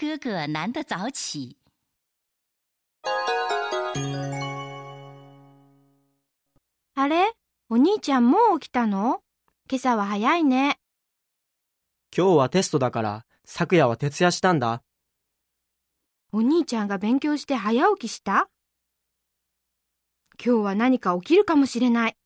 哥哥难得早起。 あれ？お兄ちゃんもう起きたの？今朝は早いね。 今日はテストだから、昨夜は徹夜したんだ。 お兄ちゃんが勉強して早起きした？今日は何か起きるかもしれない。